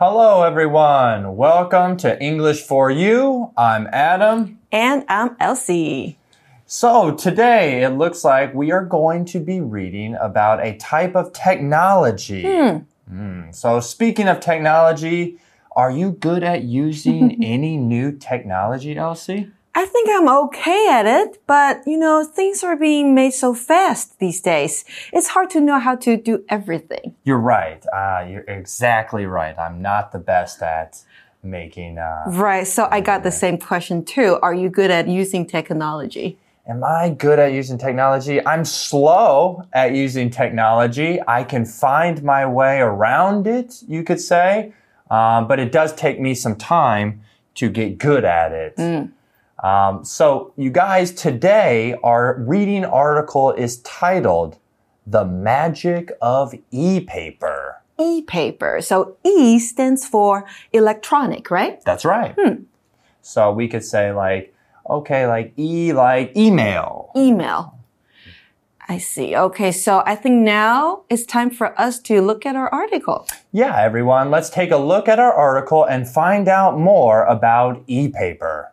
Hello, everyone. Welcome to English for You. I'm Adam. And I'm Elsie. So today, it looks like we are going to be reading about a type of technology. So speaking of technology, are you good at using any new technology, Elsie? I think I'm okay at it, but things are being made so fast these days. It's hard to know how to do everything. You're right. You're exactly right. I'm not the best at making... Right, so I got the same question too. Are you good at using technology? Am I good at using technology? I'm slow at using technology. I can find my way around it, you could say. But it does take me some time to get good at it. So you guys, today our reading article is titled The Magic of E-Paper. E-paper. So E stands for electronic, right? That's right. So we could say like email. Email. I see. Okay, so I think now it's time for us to look at our article. Yeah, everyone, let's take a look at our article and find out more about e-paper.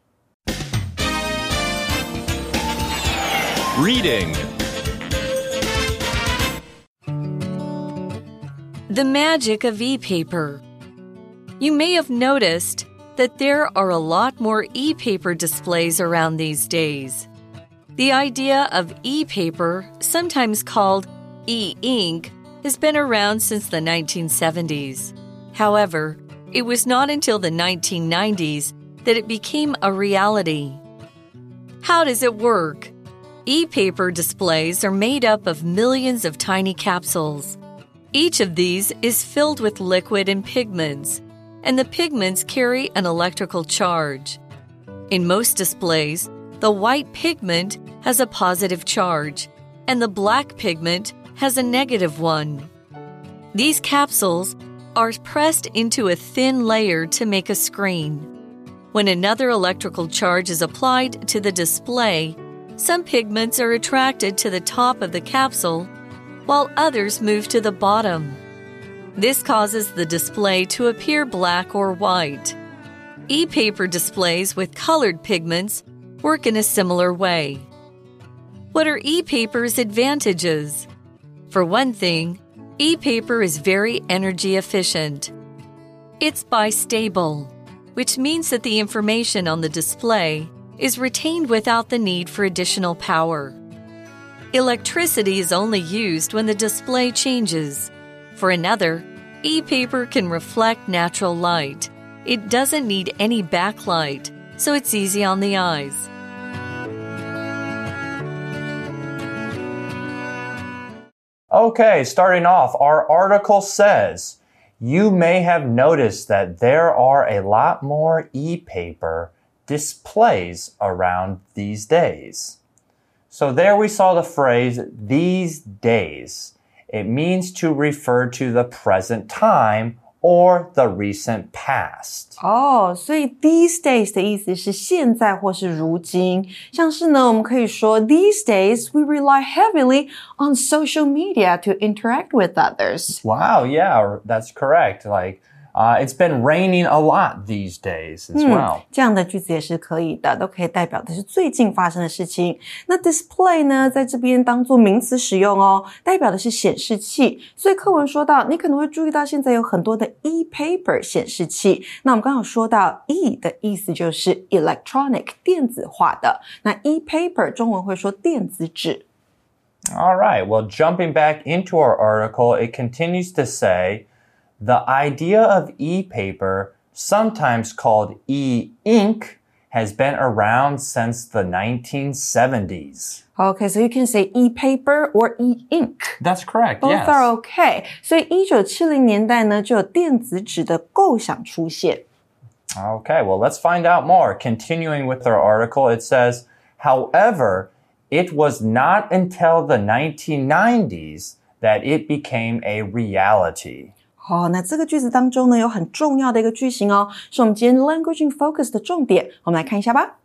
Reading. The magic of e-paper. You may have noticed that there are a lot more e-paper displays around these days. The idea of e-paper, sometimes called e-ink, has been around since the 1970s. However, it was not until the 1990s that it became a reality. How does it work? E-paper displays are made up of millions of tiny capsules. Each of these is filled with liquid and pigments, and the pigments carry an electrical charge. In most displays, the white pigment has a positive charge, and the black pigment has a negative one. These capsules are pressed into a thin layer to make a screen. When another electrical charge is applied to the display, some pigments are attracted to the top of the capsule, while others move to the bottom. This causes the display to appear black or white. E-paper displays with colored pigments work in a similar way. What are e-paper's advantages? For one thing, e-paper is very energy efficient. It's bistable, which means that the information on the display is retained without the need for additional power. Electricity is only used when the display changes. For another, e-paper can reflect natural light. It doesn't need any backlight, so it's easy on the eyes. Okay, starting off, our article says, you may have noticed that there are a lot more e-paper displays around these days. So there we saw the phrase, these days. It means to refer to the present time or the recent past. 所以 these days 的意思是现在或是如今。像是呢，我们可以说 these days we rely heavily on social media to interact with others. Wow, yeah, that's correct. It's been raining a lot these days as well. 这样的句子也是可以的，都可以代表的是最近发生的事情。那 display 呢，在这边当作名词使用哦，代表的是显示器。所以課文說到，你可能會注意到現在有很多的 e-paper 顯示器。那我們剛好說到 e 的意思就是 electronic 電子化的，那 e-paper 中文會說電子紙。 All right, well, jumping back into our article, it continues to say, the idea of e-paper, sometimes called e-ink, has been around since the 1970s. Okay, so you can say e-paper or e-ink. That's correct, Both yes. are okay. 所以1970年代呢，就有電子紙的構想出現。 Okay, well, let's find out more. Continuing with our article, it says, however, it was not until the 1990s that it became a reality. 那這個句子當中呢，有很重要的一個句型哦，是我們今天 Language in Focus 的重點。我們來看一下吧。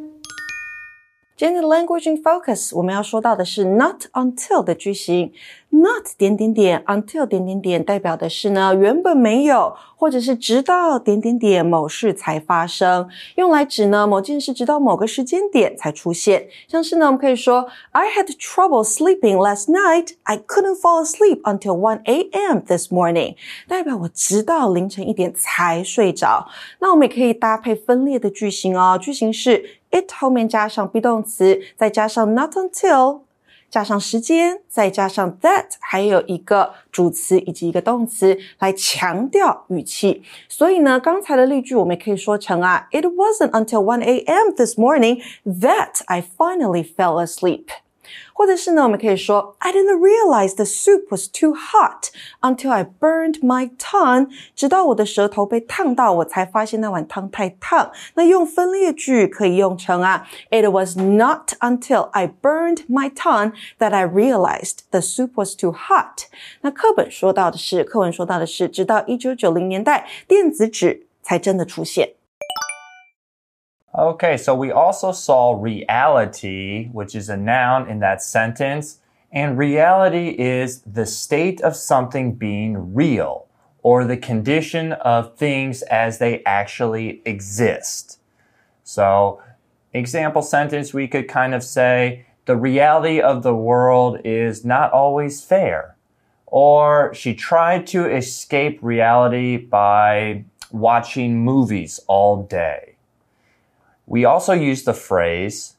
今天的 Language in Focus 我們要說到的是 not until 的句型。 Not 點點點 until 點點點代表的是呢，原本沒有，或者是直到點點點某事才發生，用來指呢某件事直到某個時間點才出現。像是呢，我們可以說 I had trouble sleeping last night. I couldn't fall asleep until 1 a.m. this morning. 代表我直到凌晨1點才睡着。那我們也可以搭配分列的句型哦，句型是 it 後面加上 be 動詞，再加上 not until。加上時間，再加上 that， 還有一個主詞以及一個動詞來強調語氣。所以呢，剛才的例句我們也可以說成啊 It wasn't until 1 a.m. this morning that I finally fell asleep. 或者是呢，我們可以說 I didn't realize the soup was too hot until I burned my tongue. 直到我的舌頭被燙到，我才發現那碗湯太燙。那用分列句可以用成啊 It was not until I burned my tongue that I realized the soup was too hot. 那課文說到的是，直到1990年代，電子紙才真的出現。 Okay, so we also saw reality, which is a noun in that sentence. And reality is the state of something being real, or the condition of things as they actually exist. So, example sentence, we could kind of say, the reality of the world is not always fair. Or, she tried to escape reality by watching movies all day.We also use the phrase,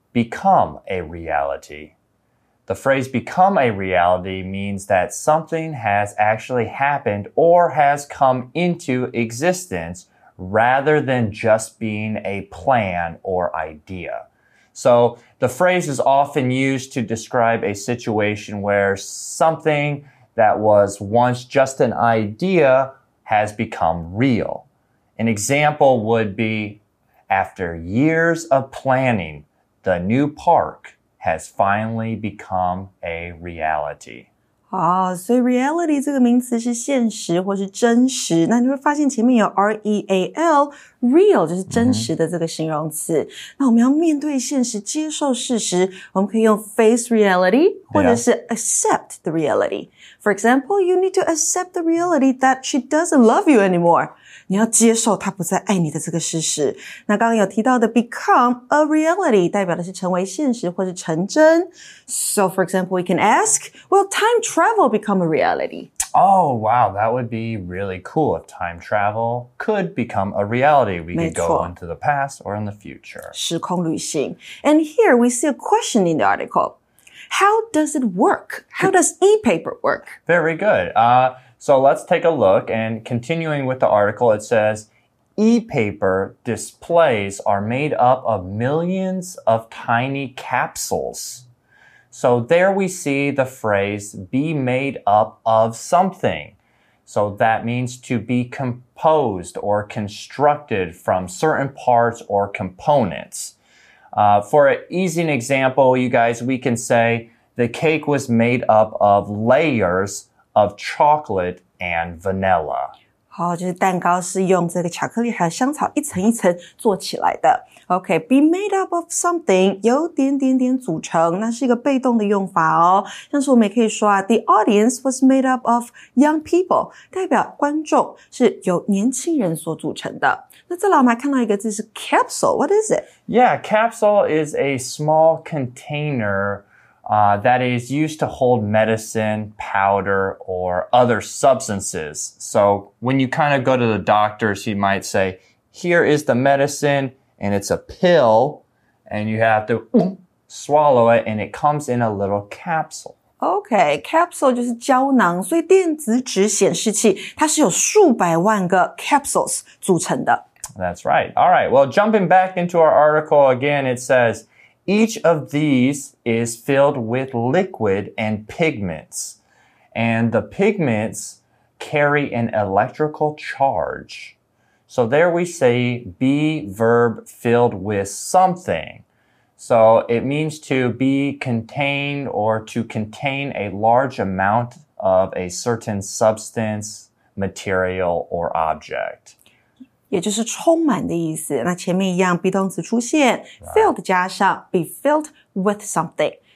become a reality. The phrase become a reality means that something has actually happened or has come into existence rather than just being a plan or idea. So the phrase is often used to describe a situation where something that was once just an idea has become real. An example would be,After years of planning, the new park has finally become a reality. 所以 reality 這個名詞是現實或是真實。那你會發現前面有 R-E-A-L, real 就是真實的這個形容詞。那我們要面對現實，接受事實，我們可以用 face reality 或者是 accept the reality. For example, you need to accept the reality that she doesn't love you anymore.你要接受他不再愛你的這個事實。那剛剛有提到的 become a reality 代表的是成為現實或是成真。So for example, we can ask, will time travel become a reality? Oh, wow, that would be really cool if time travel could become a reality. We could go into the past or in the future. 時空旅行。And here we see a question in the article. How does it work? How does e-paper work? Very good. So let's take a look, and continuing with the article, it says, e-paper displays are made up of millions of tiny capsules. So there we see the phrase, be made up of something. So that means to be composed or constructed from certain parts or components. For an easy example, you guys, we can say, the cake was made up of layers,of chocolate and vanilla. 好，就是蛋糕是用這個巧克力還有香草一層一層做起来的。Okay, be made up of something 由點點點組成，那是一個被動的用法哦。像是我們也可以說啊 ，The audience was made up of young people， 代表觀眾是由年輕人所組成的。那再來我們還看到一個字是 capsule. What is it? Yeah, capsule is a small container.That is used to hold medicine, powder, or other substances. So when you kind of go to the doctors, he might say, here is the medicine, and it's a pill, and you have to swallow it, and it comes in a little capsule. Okay, capsule 就是膠囊，所以電子紙顯示器它是由數百萬個 capsules 組成的。 That's right. All right, well, jumping back into our article again, it says,Each of these is filled with liquid and pigments, and the pigments carry an electrical charge. So there we say be verb filled with something. So it means to be contained or to contain a large amount of a certain substance, material, or object. 也就是充滿的意思。那前面一樣 be 動詞出現 filled 加上 be filled with something，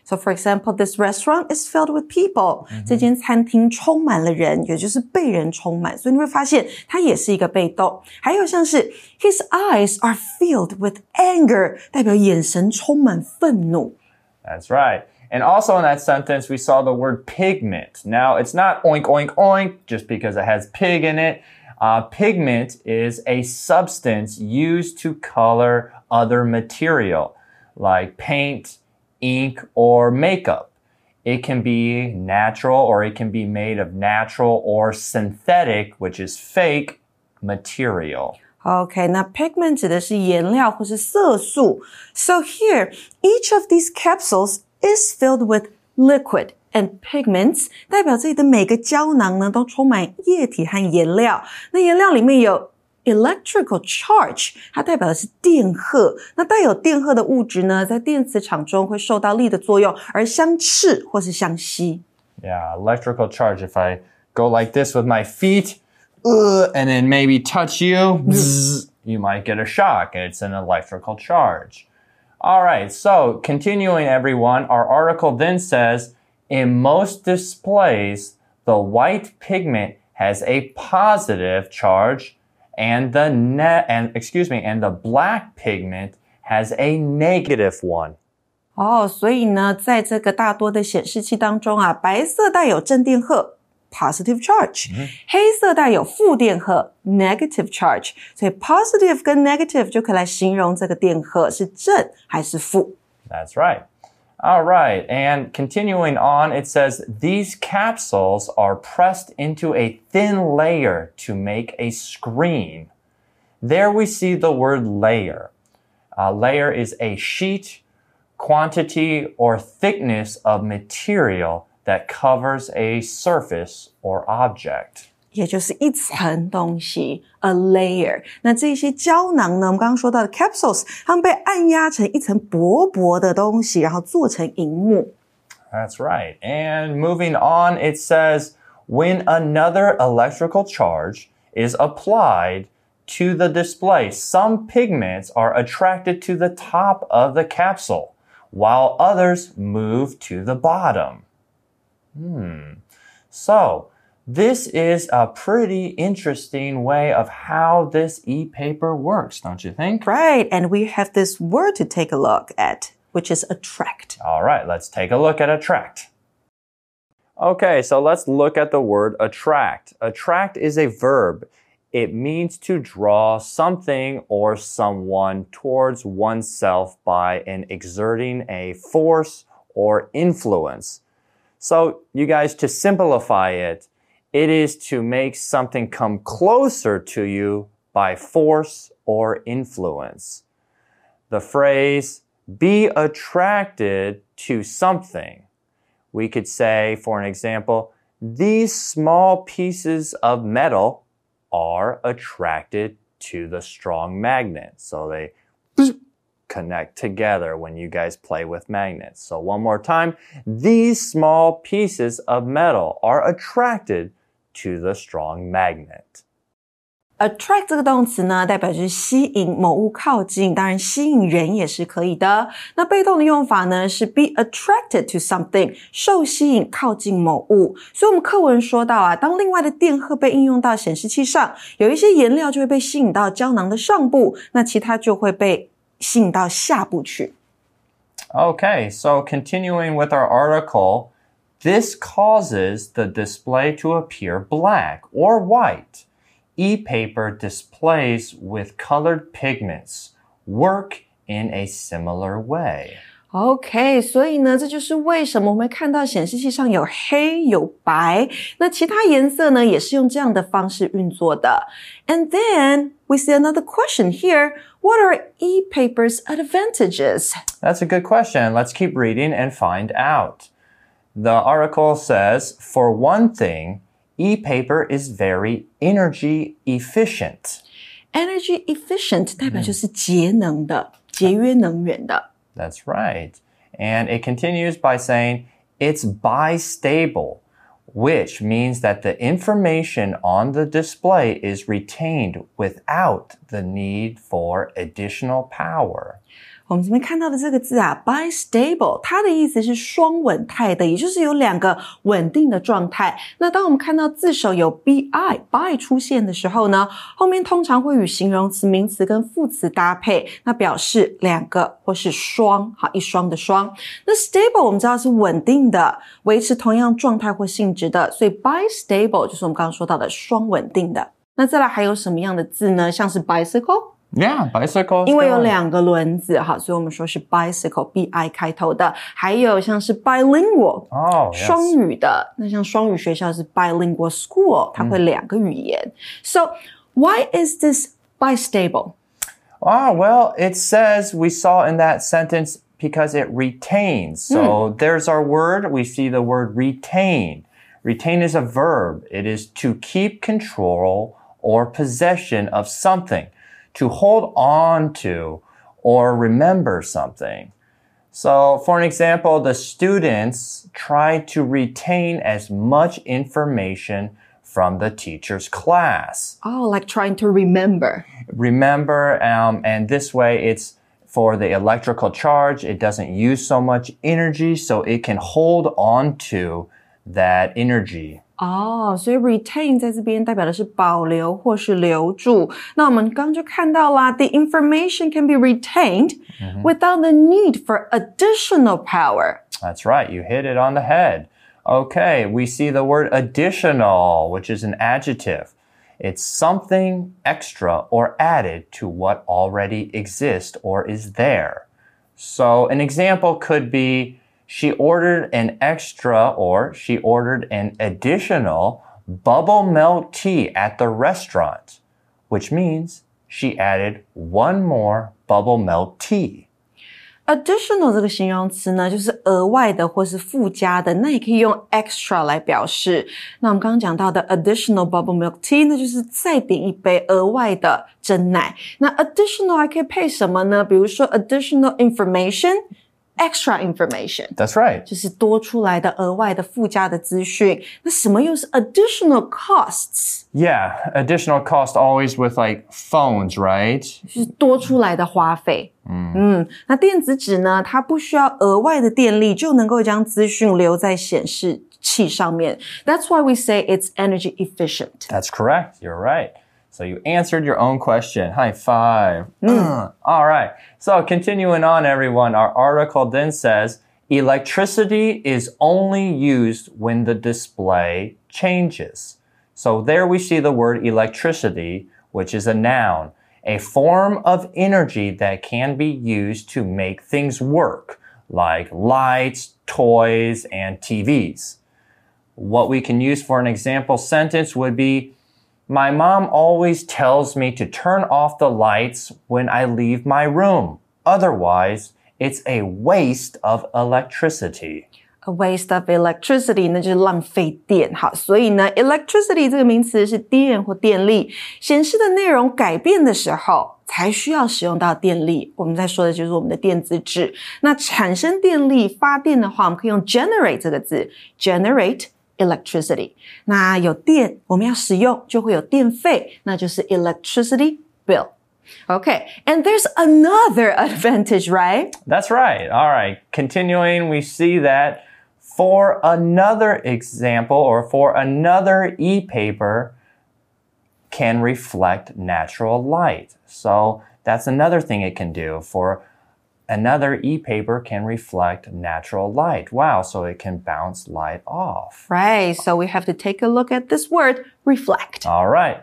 So for example, this restaurant is filled with people. 這間餐廳充滿了人，也就是被人充滿，所以你會發現它也是一個被動。還有像是 His eyes are filled with anger， 代表眼神充滿憤怒。 That's right. And also in that sentence, we saw the word pigment. Now, it's not oink, oink, oink just because it has pig in it. Pigment is a substance used to color other material, like paint, ink, or makeup. It can be natural or it can be made of natural or synthetic, which is fake, material. Okay, 那 pigment 指的是顏料或是色素。So here, each of these capsules is filled with liquid and pigments. 代表这裡的每個膠囊呢都充滿液體和顏料。那顏料裡面有electrical charge， 它代表的是電荷。那帶有電荷的物質呢，在電磁場中會受到力的作用，而相斥或是相吸。 Yeah, electrical charge. If I go like this with my feet, and then maybe touch you, you might get a shock. It's an electrical charge. All right, so continuing everyone, our article then says, in most displays, the white pigment has a positive charge and the black pigment has a negative one. 所以呢，在這個大多的顯示器當中啊，白色帶有正電荷 positive charge， 黑色帶有負電荷 negative charge， 所以 positive 跟 negative 就可以來形容這個電荷是正還是負。 That's right. All right, and continuing on, it says, these capsules are pressed into a thin layer to make a screen. There we see the word layer. Layer is a sheet, quantity, or thickness of material that covers a surface or object. 也就是一層東西 a layer。 那這些膠囊呢，我們剛剛說到的 capsules， 它們被按壓成一層薄薄的東西，然後做成螢幕。 That's right. And moving on, it says, when another electrical charge is applied to the display, some pigments are attracted to the top of the capsule, while others move to the bottom. So, this is a pretty interesting way of how this e-paper works, don't you think? Right, and we have this word to take a look at, which is attract. All right, let's take a look at attract. Okay, so let's look at the word attract. Attract is a verb. It means to draw something or someone towards oneself by exerting a force or influence. So, you guys, to simplify it, it is to make something come closer to you by force or influence. The phrase, be attracted to something. We could say, for an example, these small pieces of metal are attracted to the strong magnet. So they connect together when you guys play with magnets. So one more time, these small pieces of metal are attracted to the strong magnet. Attract 这個動詞呢，代表就是吸引某物靠近，當然吸引人也是可以的。那被動的用法呢，是 be attracted to something， 受吸引靠近某物。所以我們課文說到啊，當另外的電荷被應用到顯示器上，有一些顏料就會被吸引到膠囊的上部，那其他就會被吸引到下部去。 Okay, so continuing with our article, this causes the display to appear black or white. E-paper displays with colored pigments work in a similar way. OK, 所以呢，這就是為什麼我們會看到顯示器上有黑有白，那其他顏色呢，也是用這樣的方式運作的。And then we see another question here. What are e-paper's advantages? That's a good question. Let's keep reading and find out. The article says, for one thing, e-paper is very energy efficient. Energy efficient 代表就是節能的，節約能源的。 That's right. And it continues by saying, it's bistable, which means that the information on the display is retained without the need for additional power. 我们這邊看到的這個字啊 bistable 它的意思是雙穩態的，也就是有兩個穩定的狀態。那當我們看到字首有 bi 出現的時候呢，後面通常會與形容詞、名詞跟副詞搭配，那表示兩個或是雙，好，一雙的雙。那 stable 我們知道是穩定的，維持同樣狀態或性質的，所以 bistable 就是我們剛剛說到的雙穩定的。那再來還有什麼樣的字呢？像是 bicycle。Yeah, bicycle. 因為有兩個輪子哈，所以我們說是 bicycle, bi 開頭的。還有像是 bilingual, 雙語的。那像雙語學校是 bilingual school, 它會兩個語言。So, why is this bistable? Well, it says we saw in that sentence because it retains. So, there's our word. We see the word retain. Retain is a verb. It is to keep control or possession of something.To hold on to or remember something. So, for an example, the students try to retain as much information from the teacher's class. Like trying to remember. Remember, and this way it's for the electrical charge. It doesn't use so much energy, so it can hold on to that energy. 所以 retain 在這邊代表的是保留或是留住。那我們剛剛就看到啦 the information can be retained without the need for additional power. That's right. You hit it on the head. Okay, we see the word additional, which is an adjective. It's something extra or added to what already exists or is there. So an example could be,She ordered an extra or she ordered an additional bubble milk tea at the restaurant, which means she added one more bubble milk tea. Additional 這個形容詞呢，就是額外的或是附加的，那也可以用 extra 來表示。那我們剛剛講到的 additional bubble milk tea 那就是再點一杯額外的珍奶。那 additional 還可以配什麼呢？比如說 additional information.Extra information. That's right. 就是多出來的額外的附加的資訊。那什麼又是 additional costs? Yeah, additional cost always with like phones, right? 就是多出來的花費。那電子紙呢，它不需要額外的電力就能夠將資訊留在顯示器上面。That's why we say it's energy efficient. That's correct. You're right.So you answered your own question. High five. All right. So continuing on, everyone, our article then says, electricity is only used when the display changes. So there we see the word electricity, which is a noun, a form of energy that can be used to make things work, like lights, toys, and TVs. What we can use for an example sentence would be,My mom always tells me to turn off the lights when I leave my room. Otherwise, it's a waste of electricity. A waste of electricity 那就是浪費電。好，所以呢 electricity 這個名詞是電或電力，顯示的內容改變的時候才需要使用到電力。我們在說的就是我們的電子紙。那產生電力發電的話，我們可以用 generate 這個字 generate electricity. 那有電我們要使用就會有電費，那就是 electricity bill. Okay, and there's another advantage, right? That's right. All right. Continuing, we see that for another example or for another e-paper can reflect natural light. So that's another thing it can do. For another e-paper can reflect natural light. Wow, so it can bounce light off. Right, so we have to take a look at this word, reflect. All right.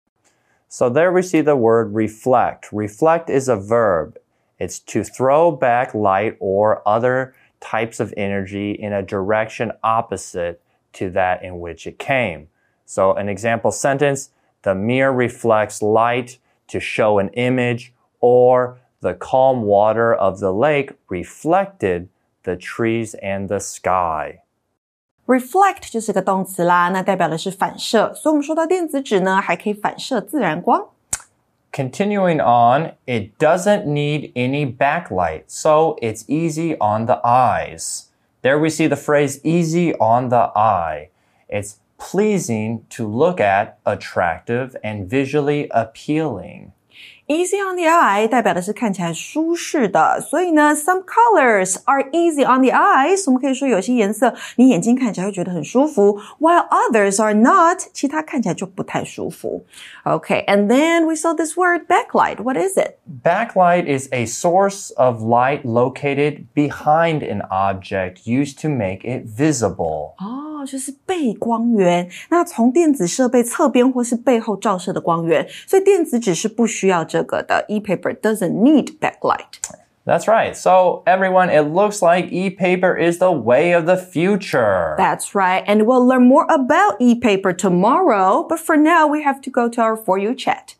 So there we see the word reflect. Reflect is a verb. It's to throw back light or other types of energy in a direction opposite to that in which it came. So an example sentence, the mirror reflects light to show an image, or the calm water of the lake reflected the trees and the sky. Reflect 就是个动詞啦，那代表的是反射，所以我們說到電子紙呢，還可以反射自然光。 Continuing on, it doesn't need any backlight, so it's easy on the eyes. There we see the phrase easy on the eye. It's pleasing to look at, attractive, and visually appealing. Easy on the eye 代表的是看起来舒適的，所以呢 some colors are easy on the eyes， 我們可以說有些顏色你眼睛看起来會覺得很舒服 while others are not， 其他看起來就不太舒服。Okay, and then we saw this word backlight. What is it? Backlight is a source of light located behind an object used to make it visible. 就是背光源，那从電子設備側邊或是背後照射的光源，所以電子紙是不需要這個的。E-paper doesn't need backlight. That's right. So, everyone, it looks like e-paper is the way of the future. That's right. And we'll learn more about e-paper tomorrow. But for now, we have to go to our For You chat.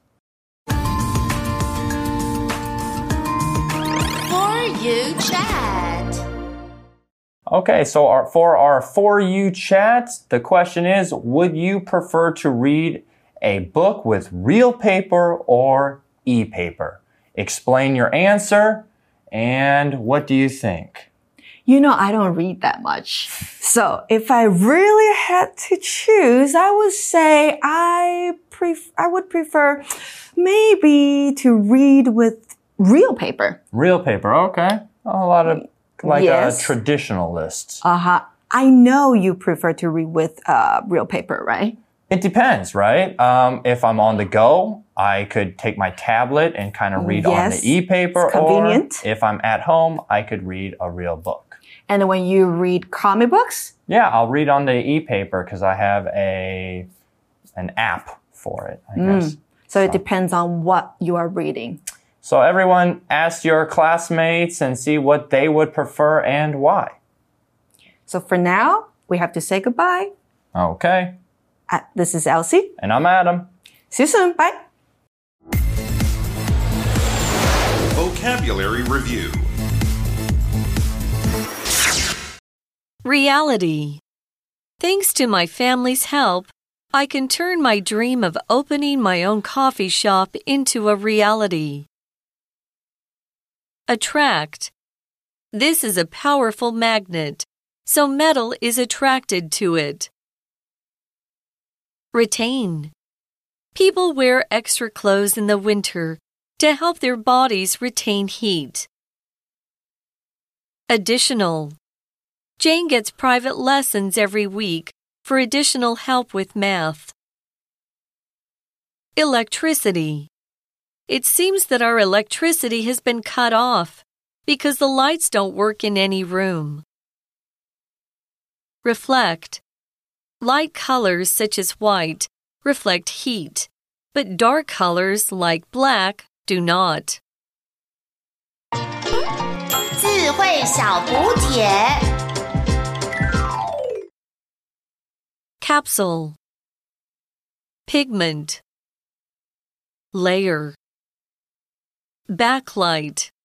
For You chat. Okay, so for our For You chat, the question is, would you prefer to read a book with real paper or e-paper? Explain your answer. And what do you think? You know, I don't read that much. So if I really had to choose, I would say I would prefer maybe to read with real paper. Real paper, okay. A lot of like yes. a traditionalist. I know you prefer to read with real paper, right? It depends, right? If I'm on the go, I could take my tablet and kind of read on the e-paper. It's convenient. Or if I'm at home, I could read a real book. And when you read comic books? Yeah, I'll read on the e-paper because I have an app for it, I guess. So it depends on what you are reading. So everyone, ask your classmates and see what they would prefer and why. So for now, we have to say goodbye. Okay. This is Elsie. And I'm Adam. See you soon. Bye. Vocabulary Review. Reality. Thanks to my family's help, I can turn my dream of opening my own coffee shop into a reality. Attract. This is a powerful magnet, so metal is attracted to it. Retain. People wear extra clothes in the winter to help their bodies retain heat. Additional. Jane gets private lessons every week for additional help with math. Electricity. It seems that our electricity has been cut off because the lights don't work in any room. Reflect. Light colors such as white reflect heat, but dark colors like black do not. 智慧小补帖 Capsule. Pigment. Layer. Backlight.